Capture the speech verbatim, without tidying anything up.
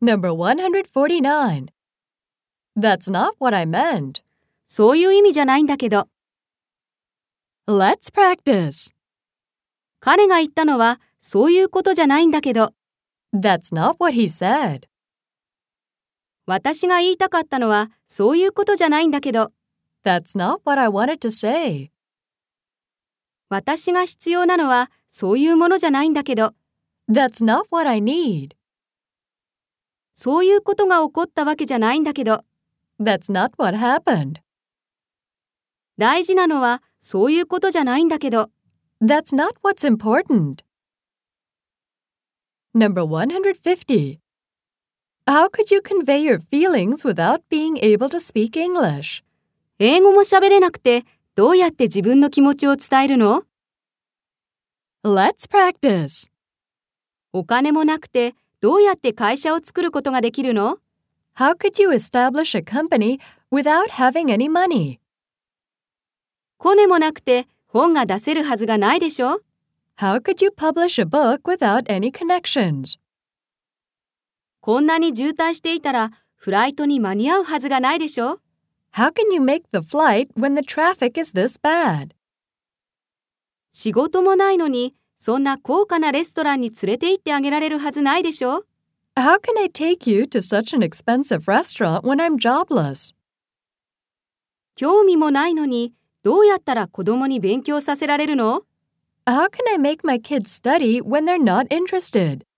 Number one hundred forty-nine. That's not what I meant. そういう意味じゃないんだけど。 Let's practice. 彼が言ったのはそういうことじゃないんだけど。 That's not what he said. 私が言いたかったのはそういうことじゃないんだけど。 That's not what I wanted to say. 私が必要なのはそういうものじゃないんだけど。 That's not what I need. そういうことが起こったわけじゃないんだけど。 That's not what happened. 大事なのはそういうことじゃないんだけど。 That's not what's important. Number one hundred fifty. How could you convey your feelings without being able to speak English? 英語も喋れなくてどうやって自分の気持ちを伝えるの？ Let's practice. お金もなくてどうやって会社を作ることができるの？ How could you establish a company without having any money? コネもなくて本が出せるはずがないでしょ？ How could you publish a book without any connections? こんなに渋滞していたらフライトに間に合うはずがないでしょ？ How can you make the flight when the traffic is this bad? 仕事もないのにそんな高価なレストランに連れて行ってあげられるはずないでしょ？ How can I take you to such an expensive restaurant when I'm jobless? 興味もないのにどうやったら子供に勉強させられるの？ How can I make my kids study when they're not interested?